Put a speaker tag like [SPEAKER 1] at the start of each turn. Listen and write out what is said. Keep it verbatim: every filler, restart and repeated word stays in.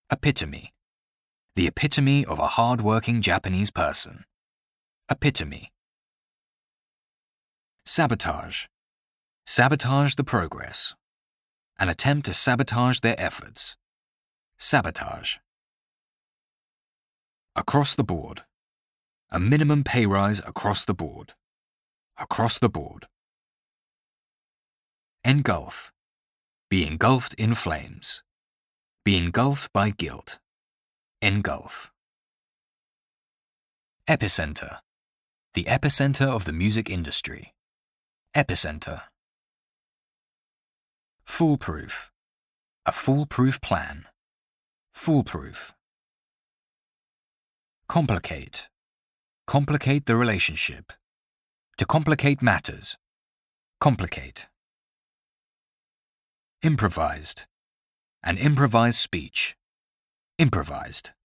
[SPEAKER 1] Epitome. The epitome of a hard-working Japanese person. Epitome. Sabotage. Sabotage the progress. An attempt to sabotage their efforts. Sabotage. Across the board. A minimum pay rise across the board. Across the board. Engulf. Be engulfed in flames. Be engulfed by guilt. Engulf. Epicenter. The epicenter of the music industry. Epicenter. Foolproof. A foolproof plan. Foolproof. Complicate. Complicate the relationship. To complicate matters. Complicate. Improvised. An improvised speech. Improvised.